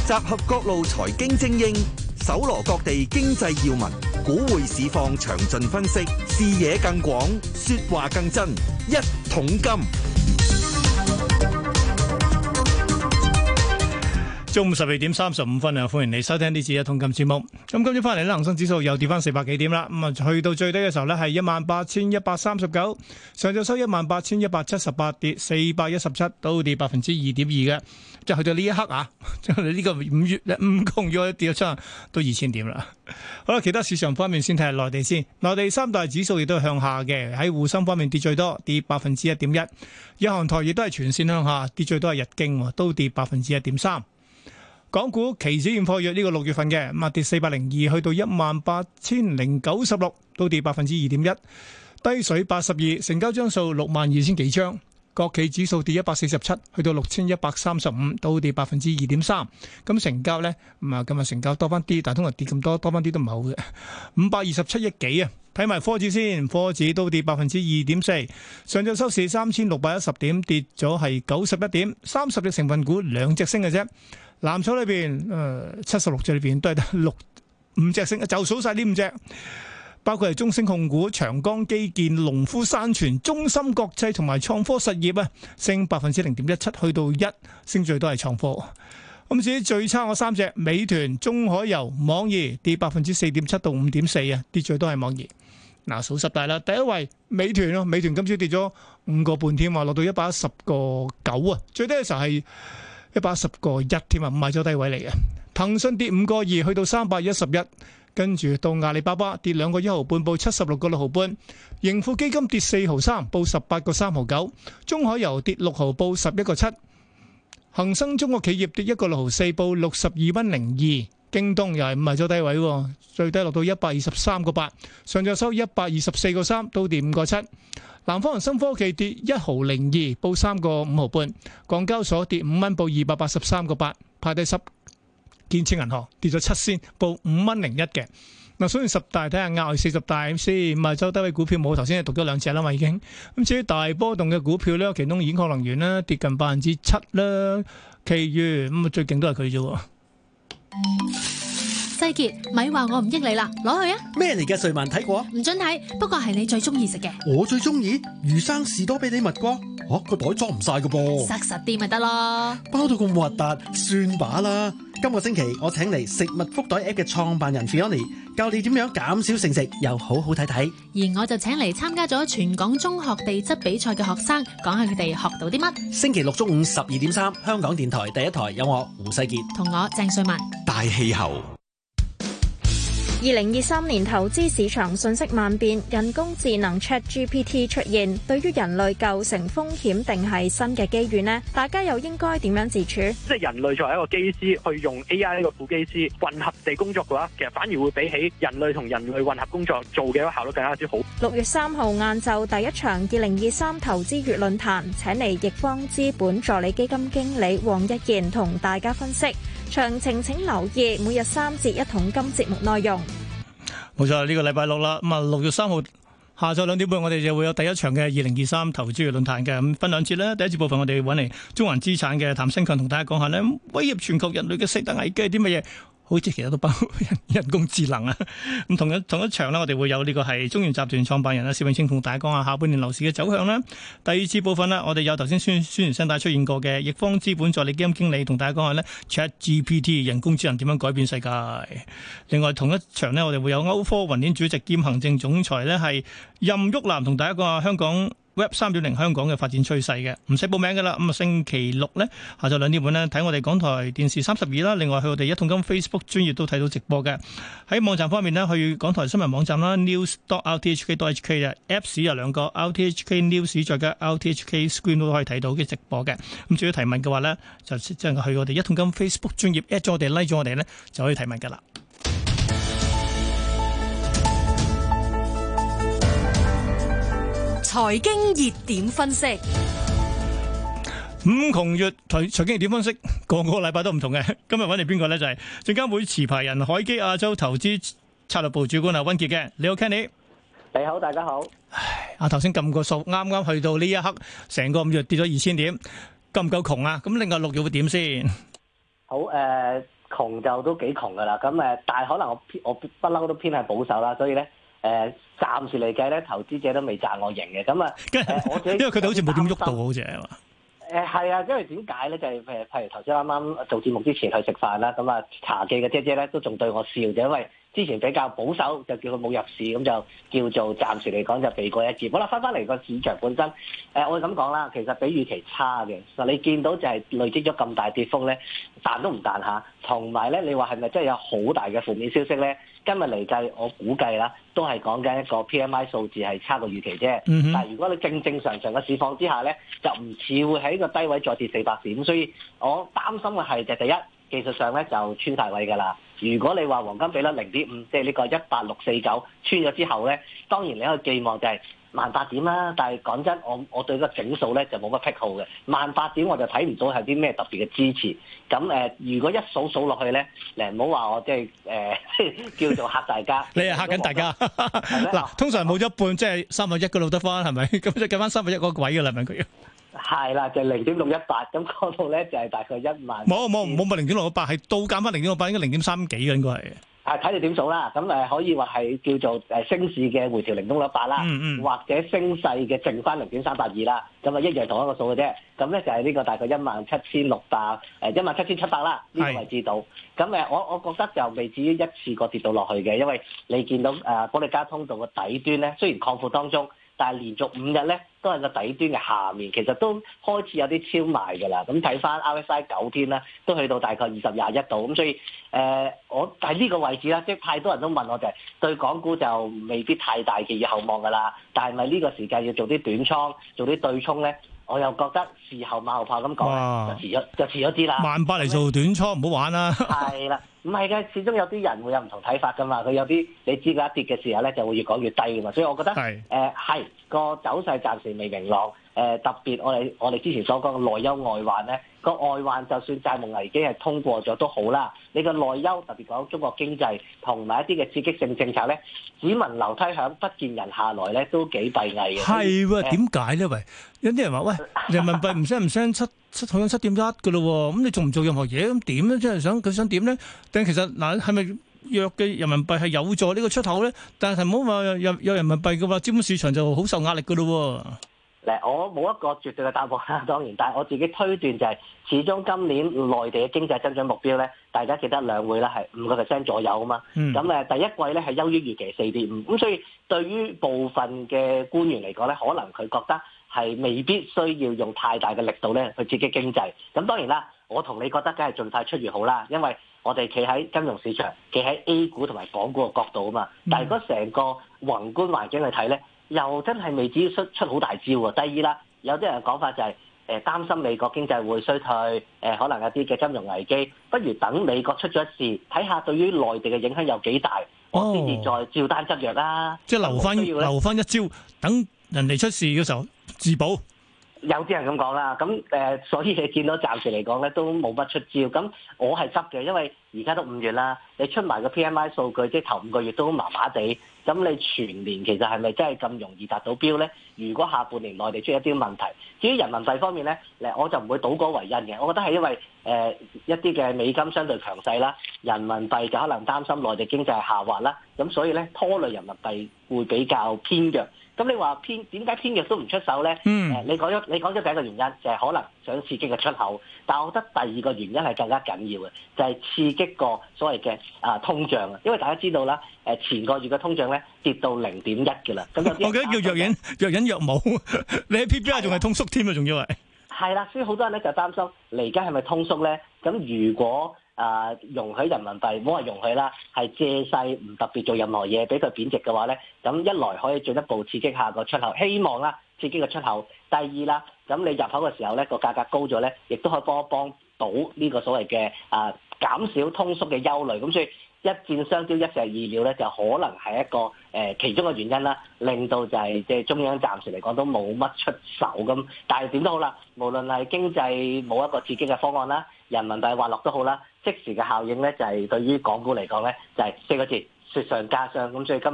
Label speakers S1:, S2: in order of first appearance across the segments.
S1: 集合各路財經精英，搜羅各地經濟要聞，股匯市況詳盡分析，視野更廣，說話更真。一桶金，
S2: 中午12:35啊！歡迎你收聽呢次一桶金節目。咁今朝翻嚟咧，恒生指數又跌翻400幾點啦。咁啊，去到最低嘅時候咧係18,139，上晝收18,178，跌417，都跌2.2%嘅。即係去到呢一刻啊，即係呢個5窮月跌咗出到2000點啦。好啦，其他市場方面先睇下內地先。內地三大指數亦都係向下嘅，喺滬深方面跌最多，跌1.1%。日韓台亦都係全線向下，跌最多係日經，都跌1.3%。港股期指現貨月呢個6月份嘅，咁啊跌402，去到18,096，都跌2.1%。低水82，成交張數62,000幾張。國企指數跌147，去到6,135，都跌2.3%。咁成交呢，咁啊今日成交多翻啲，但係通常跌咁多翻啲都唔係好嘅。527億幾啊！睇埋科指先，科指都跌2.4%。上晝收市3,610點，跌咗係91點。30隻成分股2隻升嘅啫。藍籌裏邊，76隻裏邊都係得5隻升，就數晒呢5隻。包括係中升控股、長江基建、農夫山泉、中芯國際同埋創科實業啊，升0.17%，去到1，升最多係創科。咁至於最差嗰3隻，美團、中海油、網易跌4.7%到5.4%啊，跌最多係網易。嗱，數十大啦，第一位美團咯，美團今朝跌咗5個半添啊，落到110.9啊，最低嘅時候係110.1添啊，唔係咗低位嚟嘅。騰訊跌5個2，去到311。跟住到阿里巴巴跌2個1毫半，報76個6毫半。盈富基金跌4毫3，報18個3毫9。中海油跌6毫，報11個7。恒生中國企業跌1個6毫4，報62蚊02。京東又係唔係咗低位，最低落到123個8。上晝收124個3，都跌5個7。南方恒生科技跌1毫02，報3個5毫半。港交所跌5蚊，報283個8。派低10。建設銀行跌咗7仙，報5蚊01嘅。嗱，數完十大睇下額外40大先，唔係周低位股票冇，頭先係讀咗2隻啦嘛已經。咁至於大波動嘅股票咧，其中兗礦能源咧跌近7%啦，其餘咁啊最勁都係佢啫。
S3: 世傑，咪話我唔益你啦，攞去啊！
S4: 咩嚟嘅？瑞文睇過啊？
S3: 唔准睇，不過係你最中意食嘅。
S4: 我最中意魚生士多啤梨蜜瓜，個袋裝唔晒㗎噃。
S3: 塞實啲咪得咯，
S4: 包到咁核突，算把啦。今個星期我請嚟食物福袋 app 嘅創辦人 Fiona 教你點樣減少剩食又好好睇睇。
S3: 而我就請嚟參加咗全港中學地質比賽嘅學生，講下佢哋學到啲乜。
S4: 星期六中午12.3，香港電台第一台有我胡世傑
S3: 同我鄭瑞文。
S1: 大氣候。
S5: 2023年投資市場瞬息萬變，人工智能 ChatGPT 出現，對於人類構成風險定係新嘅機遇呢？大家又應該點樣自處？
S6: 即係人類作為一個機師，去用 AI 呢個副機師混合地工作嘅話，其實反而會比起人類同人類混合工作做嘅效率更加之好。
S5: 6月3號晏晝第一場2023投資月論壇，請嚟易方資本助理基金經理黃一賢同大家分析。詳情請留意每日3節一桶金節目內容。
S2: 冇錯，呢個禮拜六啦，咁啊6月3號下晝2點半，我哋就會有第一場嘅2023投資月論壇嘅，咁分兩節啦。第一節部分我哋揾嚟中環資產嘅譚新強同大家講下呢，威脅全球人類嘅4大危機係啲乜嘢？好似其實都包括人工智能啊！咁同一場呢，我哋會有呢個係中原集團創辦人薛永清同大家講下下半年樓市嘅走向啦。第二次部分呢，我哋有頭先宣傳聲帶出現過嘅易方資本助理基金經理同大家講下呢 ChatGPT 人工智能點樣改變世界。另外同一場呢，我哋會有歐科雲鏈主席兼行政總裁呢係任旭南同大家講下香港Web 3.0 香港嘅發展趨勢嘅，唔使報名㗎啦。咁啊，星期六呢，下晝2點半呢，睇我哋港台電視32啦。另外去我哋一桶金 Facebook 專頁都睇到直播嘅。喺網站方面呢，去港台新聞網站啦 news.rthk.hk 嘅 Apps 有2個 RTHK News 再加 RTHK Screen 都可以睇到嘅直播嘅。咁至於提問嘅話呢，就即係去我哋一桶金 Facebook 專頁 at 咗我哋 like 咗我哋呢，就可以提問㗎啦。
S7: 財經熱點分析，
S2: 五窮月財經熱點分析，個禮拜都唔同嘅。今日揾嚟邊個呢？就係證監會持牌人海基亞洲投資策略部主管溫傑嘅。你好 Kenny，
S8: 你好，大家好。
S2: 頭先撳個數，啱啱去到呢一刻，成個5月跌咗2000點，夠唔夠窮啊？咁另外6月會點先？
S8: 好窮就都幾窮㗎啦。咁但係可能我不嬲都偏係保守啦，所以咧暫時嚟計咧，投資者都未賺我贏嘅。咁我自己
S2: 因為佢哋好似冇點喐到，好似係嘛？
S8: 係啊，因為點解咧？就係譬如頭先啱啱做節目之前去食飯啦，咁茶記嘅姐姐咧都仲對我笑，就因為之前比較保守，就叫佢冇入市，咁就叫做暫時嚟講就避過一劫。好啦，翻嚟個市場本身，我咁講啦，其實比預期差嘅。嗱，你見到就係累積咗咁大跌幅咧，彈都唔彈下，同埋咧，你話係咪真係有好大嘅負面消息咧？今日嚟計，我估計啦，都係講緊一個 PMI 數字係差過預期啫。但係如果你正常嘅市況之下咧，就唔似會喺個低位再跌400點，所以我擔心嘅係就第一，技術上咧就穿大位㗎啦。如果你話黃金比率0.5，即係呢個18649穿咗之後咧，當然你可以寄望就係18000點啦。但係講真，我對個整數咧就冇乜癖好嘅，18000點我就睇唔到係啲咩特別嘅支持。咁如果一數落去咧，唔好話我即係叫做嚇大家。
S2: 你係嚇緊大家嗱，通常冇咗一半，即係3分1嗰度得翻係咪？咁就計翻3分1嗰個位㗎啦，問佢。係
S8: 啦，就0.618，咁嗰度咧就係大概1萬。冇
S2: 咪0.618，係倒減翻0.618，應該0.3幾嘅應該係。
S8: 睇你點數啦，咁可以話係叫做升市嘅回調0.618啦，或者升勢嘅剩翻0.382啦，咁一樣同一個數嘅啫。咁咧就係呢個大概17600、17700啦呢個位置度。咁我覺得就未至於一次過跌到落去嘅，因為你見到保利加通道嘅底端咧，雖然擴闊當中，但係連續5日咧都係個底端嘅下面，其實都開始有啲超賣㗎啦。咁睇翻 RSI 9天啦，都去到大概20.21度。咁所以我喺呢個位置啦，即係太多人都問我就係對港股就未必太大嘅以後望㗎啦。但係咪呢個時間要做啲短倉、做啲對沖咧？我又覺得事後馬後炮咁講，就遲咗啲啦。
S2: 18000嚟做短倉，唔好玩啦。
S8: 係啦，唔係嘅，始終有啲人會有唔同睇法㗎嘛。佢有啲你知佢一跌嘅時候咧，就會越講越低㗎嘛。所以我覺得係個走勢暫時未明朗。特別我哋之前所講嘅內憂外患咧，個外患就算債務危機係通過咗都好啦。你個內憂特別講中國經濟同埋一啲嘅刺激性政策咧，只聞樓梯響，不見人下來咧，都幾閉翳嘅。
S2: 係喎，點解咧？喂，有啲人話喂，人民幣唔升7去到7.1嘅咯喎，咁你做唔做任何嘢咁點咧？即係佢想點咧？但其實嗱，係咪弱嘅人民幣係有助呢個出口咧？但係唔好話有人民幣嘅話，資本市場就好受壓力嘅咯喎。
S8: 我冇一個絕對嘅答案啦，當然，但係我自己推斷就係，始終今年內地嘅經濟增長目標咧，大家記得兩會啦，係5% 左右啊嘛。咁第一季咧係優於預期4.5，咁所以對於部分嘅官員嚟講咧，可能佢覺得係未必需要用太大嘅力度咧去刺激經濟。咁當然啦，我同你覺得梗係盡快出越好啦，因為我哋企喺金融市場，企喺 A 股同埋港股嘅角度啊嘛。但係如果成個宏觀環境去睇咧，又真係未至於出好大招喎。第二啦，有啲人講法就係擔心美國經濟會衰退，可能有啲嘅金融危機，不如等美國出咗事，睇下對於內地嘅影響有幾大，我先至再照單執藥啦。
S2: 即係留翻一招，等人哋出事嘅時候自保。
S8: 有啲人咁講啦，咁所以你見到暫時嚟講咧都冇乜出招。咁我係執嘅，因為而家都5月啦，你出埋個 PMI 數據，即係頭5個月都麻麻地。咁你全年其實係咪真係咁容易達到標咧？如果下半年內地出一啲問題，至於人民幣方面咧，我就唔會倒果為因嘅。我覺得係因為一啲嘅美金相對強勢啦，人民幣就可能擔心內地經濟下滑啦，咁所以咧拖累人民幣會比較偏弱。咁你話點解偏弱都唔出手咧？你講咗第一個原因就係可能想刺激個出口，但係我覺得第二個原因係更加緊要嘅，就係刺激個所謂嘅通脹啊。因為大家知道啦，前個月嘅通脹咧跌到0.1嘅啦。咁有啲我記得叫若隱若無，你喺 PPI 仲係通縮添啊，仲要係啦，所以好多人咧就擔心嚟緊係咪通縮咧？咁如果容許人民幣，唔好話容許啦，係借勢唔特別做任何嘢，俾佢貶值嘅話咧，咁一來可以進一步刺激下個出口，希望啦刺激個出口。第二啦，咁你入口嘅時候咧個價格高咗咧，亦都可以幫到呢個所謂嘅減少通縮嘅憂慮。咁所以一箭雙雕，一石二鳥咧，就可能係一個其中嘅原因啦，令到就係即係中央暫時嚟講都冇乜出手咁。但係點都好啦，無論係經濟冇一個刺激嘅方案啦，人民幣滑落都好啦，即時嘅效應咧就係對於港股嚟講咧就係4個字，雪上加霜。咁所以今日咧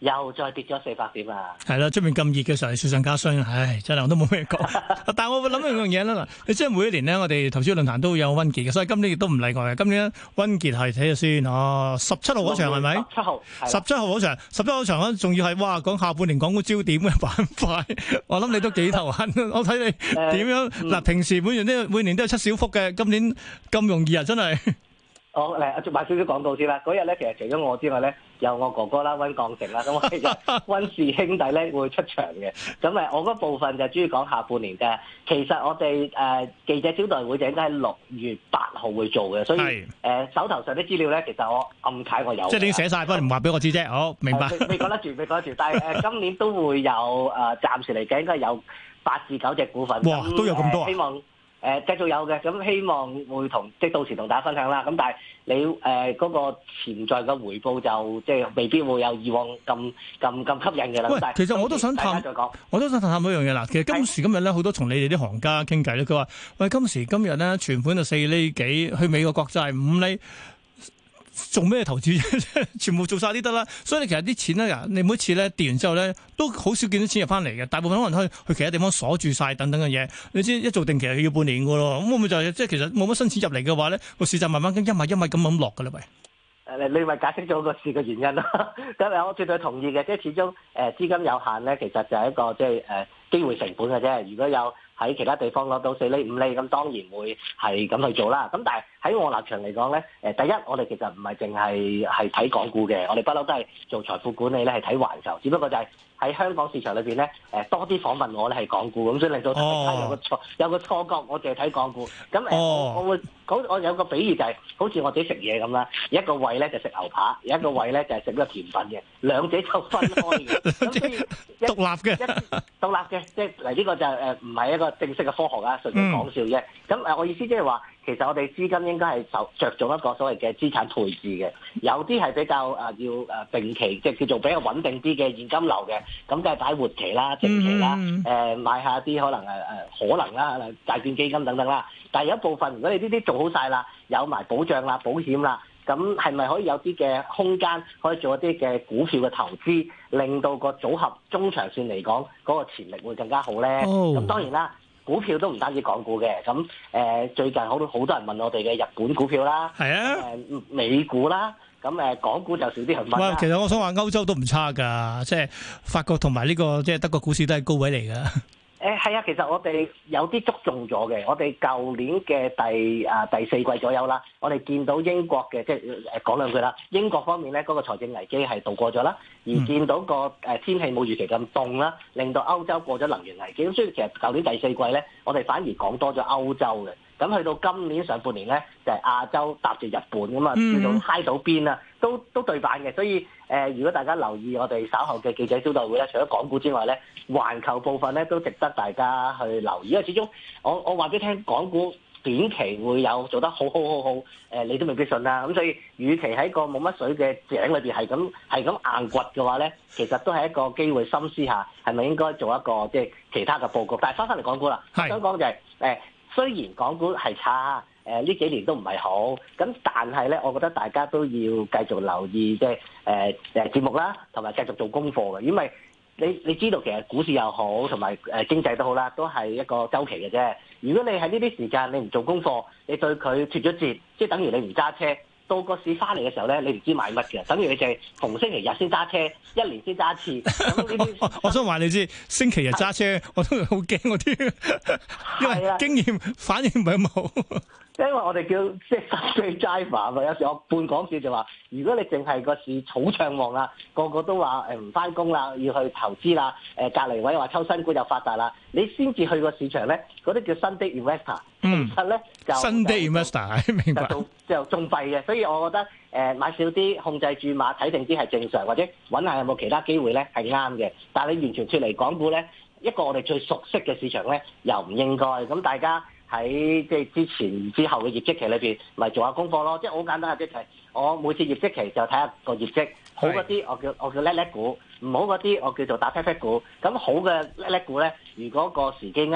S8: 又再跌咗400點啊！
S2: 係啦，出面咁熱嘅時候，雪上加霜，唉，真係我都冇咩講。但係我會諗一樣嘢啦，嗱，你即係每一年咧，我哋投資論壇都有溫傑嘅，所以今年亦都唔例外嘅。今年溫傑係睇下先，哦，17號嗰場係咪
S8: ？17號
S2: ，17號嗰場，17號嗰場咧，仲要係哇講下半年港股焦點嘅板塊，我諗你都幾頭痕。我睇你點樣嗱，平時每年都有7小福嘅，今年咁容易啊，真係。
S8: 我嚟買少少廣告先啦。嗰日咧，其實除咗我之外咧，有我哥哥啦，溫鋼城啦，咁我哋就溫氏兄弟咧會出場嘅。咁我嗰部分就主要講下半年嘅。其實我哋記者招待會就應該喺6月8號會做嘅，所以手頭上啲資料咧，其實我暗解我有。
S2: 即係你寫晒，不過唔話俾我知啫。好，明白。
S8: 未講得住，但係今年都會有暫時嚟計應該有8至9隻股份。
S2: 哇，都有咁多啊！
S8: 希望。繼續有嘅，咁希望會即係到時同大家分享啦。咁但係你嗰個潛在嘅回報就即係未必會有以往咁吸引嘅啦。
S2: 喂，其實我都想探一樣嘢啦。其實今時今日咧，好多同你哋啲行家傾偈咧，佢話：喂，今時今日咧，存款就4厘幾，去美國國債5厘。做咩投資啫？全部做晒啲得啦，所以你其實啲錢咧，你每次咧跌完之後咧，都好少見到錢入翻嚟嘅。大部分可能去其他地方鎖住晒等等嘅嘢。你知一做定期係要半年噶咯，咁會唔會就係即係其實冇乜新錢入嚟嘅話咧，個市就慢慢一米咁落噶啦？喂，
S8: 你咪解釋咗個市嘅原因咯。咁我絕對同意嘅，即係始終資金有限咧，其實就係一個即係機會成本嘅啫。如果有喺其他地方攞到4厘5厘，咁當然會係咁去做啦。咁但係喺我立場嚟講咧，第一我哋其實唔係淨係睇港股嘅，我哋不嬲都係做財富管理咧，係睇環球。只不過就係喺香港市場裏邊咧，多啲訪問我咧係港股，咁所以令到大家有個錯覺，我淨係睇港股。咁我有個比喻就係好似我自己食嘢咁啦，一個胃咧就食牛扒，一個胃咧就係食呢個甜品嘅，兩者就分開嘅。咁所以
S2: 獨立
S8: 嘅，即係嚟呢個就唔係一個正式嘅科學啊，純粹講笑啫。咁我意思即係話，其實我哋資金應該係着重一個所謂嘅資產配置嘅，有啲係比較要定期，即係叫做比較穩定啲嘅現金流嘅，咁梗係擺活期啦、定期啦，買下啲可能啦、債券基金等等啦。但係有一部分，如果你呢啲做好晒啦，有埋保障啦、保險啦，咁係咪可以有啲嘅空間可以做一啲嘅股票嘅投資，令到個組合中長線嚟講嗰個潛力會更加好咧？咁當然啦。股票都唔單止港股嘅，咁最近好多人問我哋嘅日本股票啦，
S2: 係啊，
S8: 美股啦，咁港股就少啲人問啦。
S2: 其實我想話歐洲都唔差㗎，即係法國同埋呢個即係德國股市都係高位嚟㗎。
S8: 係啊，其實我哋有啲捉中咗嘅。我哋舊年嘅第4季左右啦，我哋見到英國嘅即係講兩句啦。英國方面咧，嗰個財政危機係度過咗啦，而見到個天氣冇預期咁凍啦，令到歐洲過咗能源危機。咁所以其實舊年第4季咧，我哋反而講多咗歐洲嘅。咁去到今年上半年咧，就係亞洲搭住日本咁啊，叫做嗨到邊啊，都對版嘅。所以如果大家留意我哋稍後嘅記者招待會咧，除咗港股之外咧，環球部分咧都值得大家去留意。因為始終我話俾你聽，港股短期會有做得好，你都未必信啦。咁所以，與其喺個冇乜水嘅井裏邊係咁硬掘嘅話咧，其實都係一個機會，深思下係咪應該做一個即係其他嘅佈局。但係翻嚟港股啦，想講就係雖然港股係差，呢幾年都唔係好，咁但係咧，我覺得大家都要繼續留意即係節目啦，同埋繼續做功課嘅，因為你知道其實股市又好，同埋經濟都好啦，都係一個週期嘅啫。如果你喺呢啲時間你唔做功課，你對佢脫咗節，即係等於你唔揸車。到個市翻嚟嘅時候咧，你唔知買乜嘅，等於你就係逢星期日先揸車，1年先揸一次。
S2: 我想話你知，星期日揸車我都好驚嗰啲，因為經驗反應唔係咁好。
S8: 因為我哋叫即係 Sunday driver 嘛，有時我半講笑就話，如果你淨係個市草暢旺啦，個個都話唔翻工啦，要去投資啦，隔離位話抽新股就發達啦，你先至去個市場咧，嗰啲叫 Sunday investor，其實咧就
S2: Sunday investor， 明白
S8: 就仲弊嘅，所以我覺得買少啲，控制住碼，睇定啲係正常，或者揾下有冇其他機會咧係啱嘅。但係你完全脫離港股咧，一個我哋最熟悉嘅市場咧，又唔應該。咁大家喺即係之前之後嘅業績期裏邊，咪做下功課咯。即係好簡單嘅，即係我每次業績期就睇下個業績，好嗰啲我叫叻叻股，唔好嗰啲我叫做打 pat pat 股。咁好嘅叻叻股咧，如果個時機啱，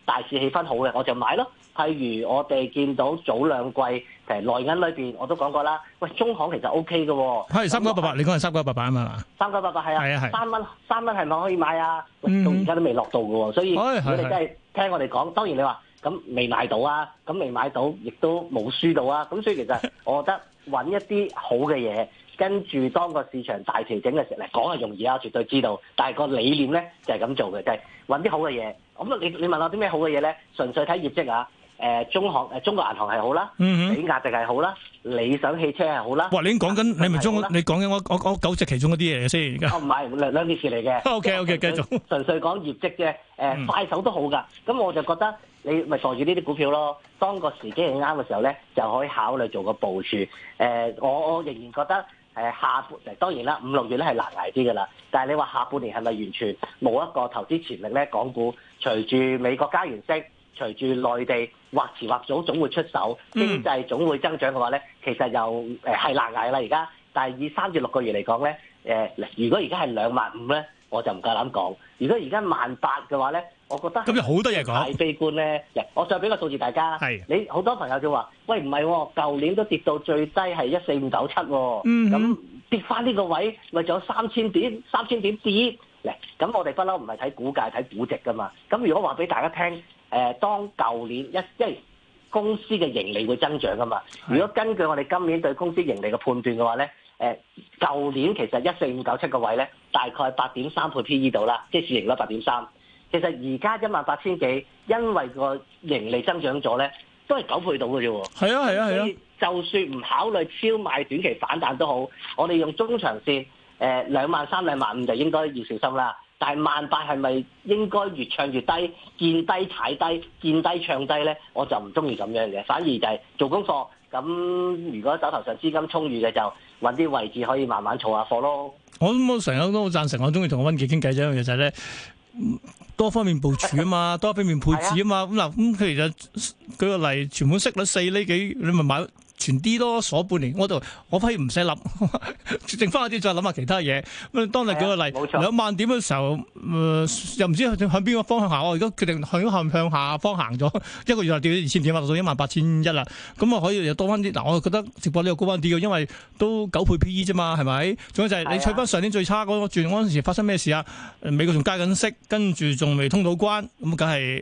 S8: 大市氣氛好嘅，我就買咯。譬如我哋見到早兩季其實內銀裏邊我都講過啦，喂，中行其實 O K 嘅喎。
S2: 係3988，你講係3988啊嘛
S8: ？3988係啊，
S2: 係
S8: 3蚊係咪可以買啊？到而家都未落到嘅喎，所以如果你真係聽我哋講，當然你話咁未買到啊，咁未買到亦都冇輸到啊，咁所以其實我覺得揾一啲好嘅嘢。跟住當個市場大調整嘅時候嚟講係容易啊，絕對知道。但係個理念咧就係咁做嘅，就係揾啲好嘅嘢。咁你問我啲咩好嘅嘢咧？純粹睇業績啊。中國銀行係好啦，比亞迪係好啦，理想汽車係好啦。
S2: 哇！你講緊你咪你講緊我9隻其中嗰啲嘢嘅先而家。
S8: 唔係兩件事嚟嘅。
S2: OK， 繼續。
S8: 純粹講業績啫。快手都好㗎。咁我就覺得你咪袋住呢啲股票咯。當個時機係啱嘅時候咧，就可以考慮做個部署。我仍然覺得。下半當然啦，5、6月咧係難捱啲㗎啦。但係你話下半年係咪完全冇一個投資潛力咧？港股隨住美國加完息，隨住內地或遲或早總會出手，經濟總會增長嘅話咧，其實又係難捱啦而家。但係以3至6個月嚟講咧，如果而家係25000咧，我就唔夠膽講。如果而家18000嘅話咧，我覺得
S2: 咁有好多嘢講。
S8: 太悲觀咧，我再俾個數字大家。你好多朋友就話：喂，唔係喎，舊年都跌到最低係14597喎。咁跌翻呢個位，咪仲有3000點跌。咁我哋不嬲唔係睇股價睇估值噶嘛。咁如果話俾大家聽，當舊年因為公司嘅盈利會增長噶嘛。如果根據我哋今年對公司盈利嘅判斷嘅話咧，舊年其實14597個位咧，大概8.3倍 P/E 度啦，即係市盈率8.3。其實而家18000幾，因為個盈利增長咗咧，都係9倍到嘅啫喎。係啊。所以就算唔考慮超賣短期反彈都好，我哋用中長線23000、25000就應該要小心啦。但係18000係咪應該越唱越低，見低踩低，見低唱低咧？我就唔中意咁樣嘅，反而就係做功課。咁如果手頭上資金充裕嘅，就揾啲位置可以慢慢儲下貨咯。我
S2: 成日都好贊成，我中意同溫傑傾偈，一樣嘢就係咧。多方面部署啊嘛，多方面配置啊嘛，咁嗱，咁其實舉個例，存款息率4厘幾，你咪買存啲咯，鎖半年，我反而唔使諗，剩翻嗰啲再諗下其他嘢。咁當你舉個例，20000點嘅時候，又唔知向邊個方向行，我而家決定向下方行咗，一個月就跌咗2000點，落到18100啦。咁啊可以又多翻啲。嗱，我覺得直播呢個高翻啲嘅，因為都9倍 P/E 啫嘛，係咪？仲有就係你取翻上年最差嗰轉嗰陣時發生咩事啊？美國仲加緊息，跟住仲未通到關，咁梗係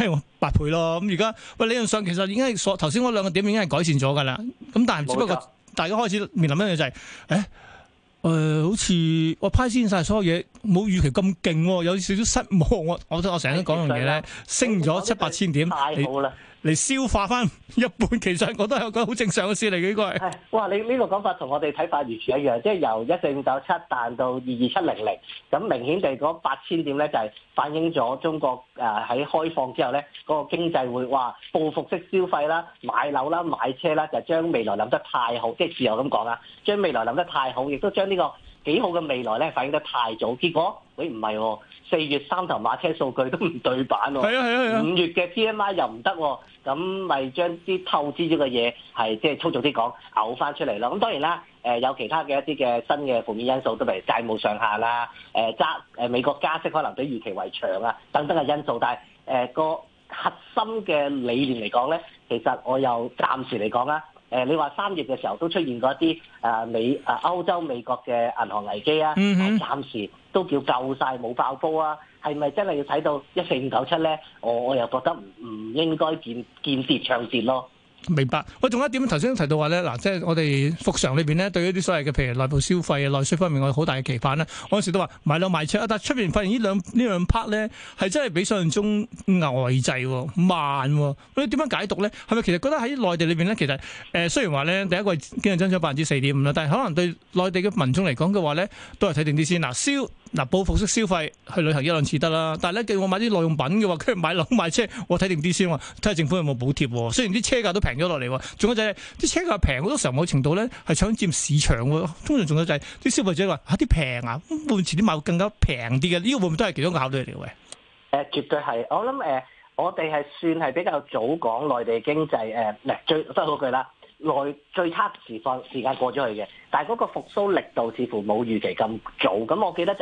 S2: 8倍咯。咁而家理論上其實已經係頭先嗰2個點已經係改善咗㗎啦。咁但係只不過大家開始面臨一樣就係，好似我派先晒所有嘢，冇預期咁勁，有少少失望。我成日都講樣嘢咧，升咗7、8000點，太好啦！嚟消化翻一半，其實我都係一個好正常嘅事嚟嘅，應該係。哇！你呢個講法同我哋睇法完全一樣，即係由14597彈到22700，咁明顯地嗰8000點咧就係反映咗中國喺開放之後咧，嗰個經濟會話報復式消費啦、買樓啦、買車啦，就將未來諗得太好，即係自由咁講啊，將未來諗得太好，亦都將呢個幾好嘅未來咧反映得太早，結果唔係喎，4月3頭馬車數據都唔對版喎，係啊，5月嘅 PMI 又唔得喎，咁咪將啲透支咗嘅嘢係即係粗俗啲講嘔翻出嚟咯。咁當然啦，有其他嘅一啲嘅新嘅負面因素，都譬如債務上限啦，美國加息可能比預期為長啊，等等嘅因素。但係個核心嘅理念嚟講咧，其實我又暫時嚟講啦。你話3月嘅時候都出現過一啲歐洲美國嘅銀行危機啊，暫時都叫救晒冇爆煲啊，係咪真係要睇到14597咧？我又覺得唔應該見跌唱跌咯。明白。喂，仲有一點頭先提到話咧，嗱，即係我哋復常裏邊咧，對於啲所謂嘅譬如內部消費啊、內需方面，我有好大嘅期盼咧。我嗰時都話買樓賣車啊，但係出邊發現呢兩 part 咧係真係比想象中呆滯慢喎。你點樣解讀咧？係咪其實覺得喺內地裏邊咧，其實雖然話咧第一季經濟增長4.5%啦，但係可能對內地嘅民眾嚟講嘅話咧，都係睇定啲先。報復式消費去旅行1-2次得啦，但係咧叫我買啲耐用品嘅話，跟住買樓買車，我睇定啲先喎，睇下政府有冇補貼。雖然啲車價都平咗落嚟，仲有就係啲車價平，好多時候某程度咧係搶佔市場喎。通常仲有就係啲消費者話啲平啊，會唔會遲啲買更加平啲嘅？呢個會唔會都係其中一個考慮嚟嘅？絕對係。我諗我哋係算係比較早講內地經濟最得嗰句啦。最差時間過咗去嘅，但係嗰個復甦力度似乎冇預期咁早。咁我記得就係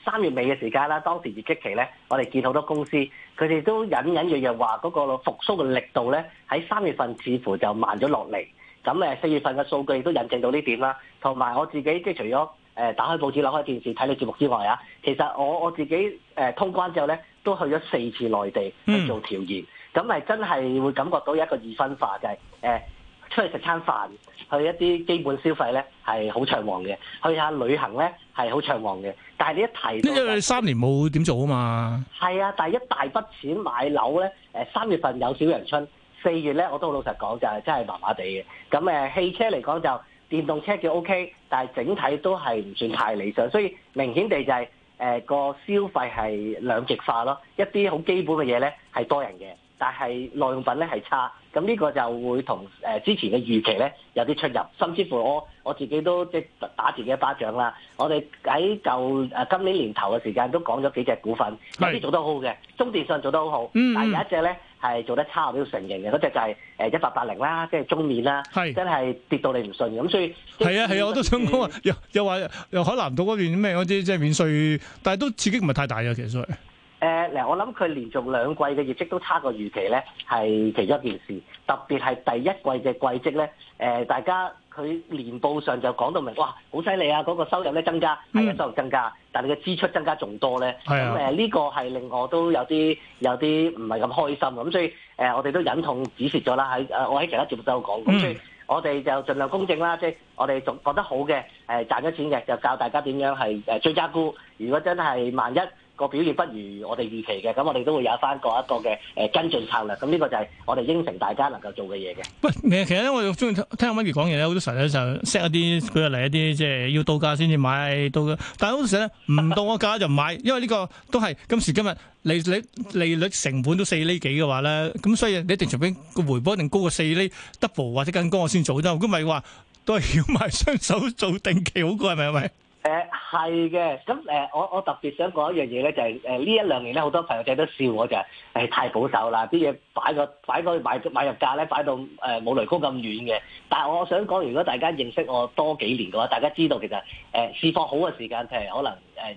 S8: 3月尾嘅時間啦，當時業績期咧，我哋見好多公司佢哋都隱隱約約話嗰個復甦嘅力度咧，喺3月份似乎就慢咗落嚟。咁4月份嘅數據亦都印證到呢點啦。同埋我自己即係除咗打開報紙、扭開電視睇你節目之外啊，其實我自己通關之後咧，都去咗4次內地去做調研，咁係真係會感覺到一個二分化，就係出去食餐飯，去一啲基本消費咧係好暢旺嘅，去下旅行咧係好暢旺嘅。但係你一提到，
S2: 因為你3年冇點做啊嘛。係
S8: 啊，但係一大筆錢買樓咧，3月份有小陽春，4月咧我都好老實講就係真係麻麻地嘅。咁汽車嚟講就電動車叫 OK， 但係整體都係唔算太理想，所以明顯地就係個消費係兩極化咯。一啲好基本嘅嘢咧係多人嘅，但係耐用品咧係差。咁呢個就會同之前嘅預期咧有啲出入，甚至乎我自己都即係打自己一巴掌啦。我哋喺今年年頭嘅時間都講咗幾隻股份，有啲做得好嘅，中電信做得好好，但係有一隻咧係做得差，我都要承認嘅。嗰隻就係1880啦，即係中免啦，真係跌到你唔信咁，所以係啊，我都想講話又話又海南島嗰邊咩嗰啲即係免稅，但係都刺激唔係太大嘅其實。我諗佢連續2季嘅業績都差過預期咧，係其中一件事。特別係第一季嘅季績咧，大家佢年報上就講到明，哇，好犀利啊！嗰個收入咧增加，係收入增加，但係嘅支出增加仲多咧。咁呢個係令我都有啲唔係咁開心。咁所以我哋都忍痛止蝕咗啦。我喺其他節目都有講。咁所以我哋就盡量公正啦，即係我哋仲覺得好嘅，賺咗錢嘅就教大家點樣係追加沽。如果真係萬一個表現不如我哋預期嘅，咁我哋都會有翻一個嘅跟進策略。咁呢個就係我哋應承大家能夠做嘅嘢嘅。喂，
S2: 其實咧，我中意聽阿 Maggie 講嘢咧，好多時候咧就 set 一啲舉例一啲即係要到價先至買到嘅，但係好多時咧唔到個價就唔買，因為呢個都係今時今日利率成本都4厘幾嘅話咧，咁所以你一定除非個回報一定高過4厘 double 或者更高我先做得，如果唔係話都係要買雙手做定期好過，係咪？
S8: 係嘅，咁我特別想講一樣嘢咧，就係呢1-2年咧，好多朋友仔都笑我就係太保守啦，啲嘢擺個買入價咧擺到冇雷公咁遠嘅。但係我想講，如果大家認識我多幾年嘅話，大家知道其實市況好嘅時間，譬如可能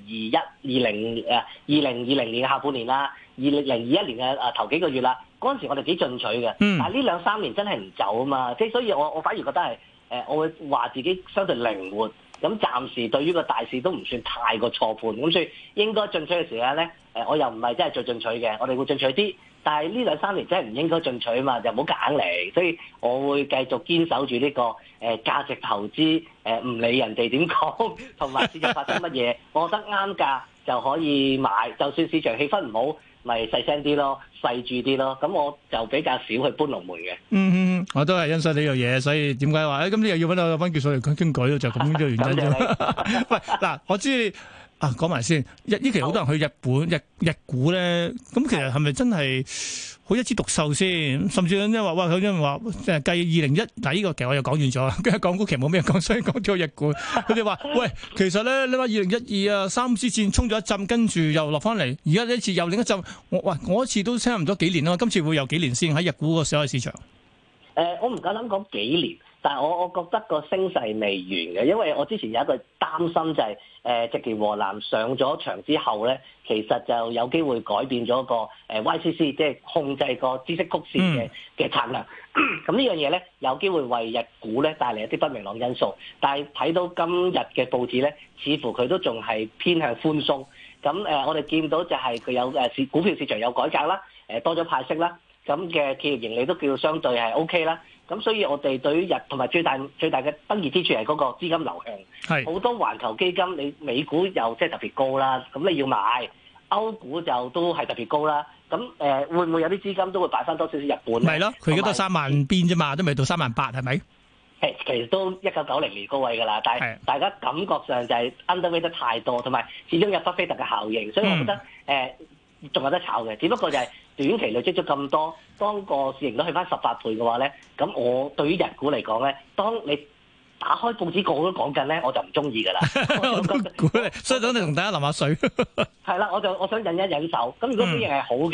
S8: 2020年嘅下半年啦，2021年嘅頭幾個月啦，嗰陣時我哋幾進取嘅。但係呢2-3年真係唔走啊嘛，即係所以我反而覺得係我會話自己相對靈活。咁暫時對於個大市都唔算太過錯判，咁所以應該進取嘅時間咧，我又唔係真係最進取嘅，我哋會進取啲。但係呢2-3年真係唔應該進取啊嘛，就唔好夾硬嚟。所以我會繼續堅守住呢個價值投資，唔理人哋點講，同埋市場發生乜嘢，我覺得啱價就可以買。就算市場氣氛唔好，咪細聲啲咯，細注啲咯。咁我就比較少去搬龍門嘅。
S2: 我都係欣賞呢樣嘢，所以點解話咁你又要揾到溫教授嚟傾偈咯？就咁嘅原因啫。喂，嗱，我知你講埋先。呢期好多人去日本日股咧，咁其實係咪真係好一枝獨秀先？甚至咧話哇，佢因為話即係計2021，嗱呢個其實我又講完咗，跟住港股其實冇咩講，所以講咗日股。佢哋話喂，其實咧你話2012三支箭衝咗一陣，跟住又落翻嚟，而家呢一次又另一陣。我一次都差唔多幾年啦，今次會有幾年先喺日股個所謂市場？
S8: 我唔夠膽講幾年，但係我覺得個升勢未完嘅，因為我之前有一個擔心就係植田和男上咗場之後咧，其實就有機會改變咗個YCC，即係控制個孳息曲線嘅策略。咁呢樣嘢咧，有機會為日股咧帶嚟一啲不明朗因素。但係睇到今日嘅報紙咧，似乎佢都仲係偏向寬鬆。咁我哋見到就係佢有股票市場有改革啦，多咗派息啦。咁嘅企業盈利都叫相對係 OK 啦，咁所以我哋對於同埋最大嘅得益之處係嗰個資金流向，好多環球基金你美股又即係特別高啦，咁你要買歐股就都係特別高啦，咁會唔會有啲資金都會擺翻多少少日本？
S2: 係咯，佢而家都3萬邊啫嘛，都未到38000係咪？
S8: 其實都1990年高位㗎啦，但係大家感覺上就係 underweight 得太多，同埋始終有巴菲特嘅效應，所以我覺得仲有得炒嘅，只不過就係短期累積咗咁多，當個市盈率去翻18倍嘅話咧，咁我對於日股嚟講咧，當你打開報紙個個都講緊咧，我就唔中意㗎啦。
S2: 我都估你，所以等你同大家淋下水。
S8: 係啦，我想忍一忍手。咁如果表現係好嘅，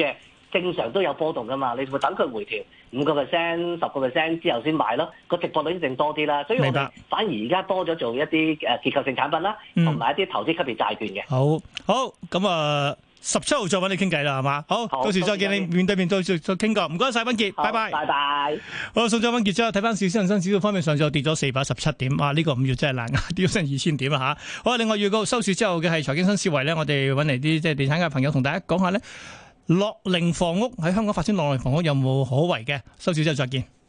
S8: 正常都有波動噶嘛，你會等佢回調5%、10%之後先買咯，個值博率一定多啲啦。所以我哋反而而家多咗做一啲結構性產品啦，同埋一啲投資級別債券嘅。
S2: 好咁啊，17號再揾你傾偈啦，係嘛？好，到時再見你面對面再傾過。唔該晒，溫傑，拜拜。
S8: 拜拜。
S2: 好，送咗溫傑之後，睇翻恒生指數方面，上晝跌咗417點，哇！呢個5月真係難捱，跌咗成2000點啊嚇。好，另外預告收市之後嘅係財經新思維咧，我哋揾嚟啲即係地產界朋友同大家講下咧，樂齡房屋喺香港發展樂齡房屋有冇可為嘅？收市之後再見。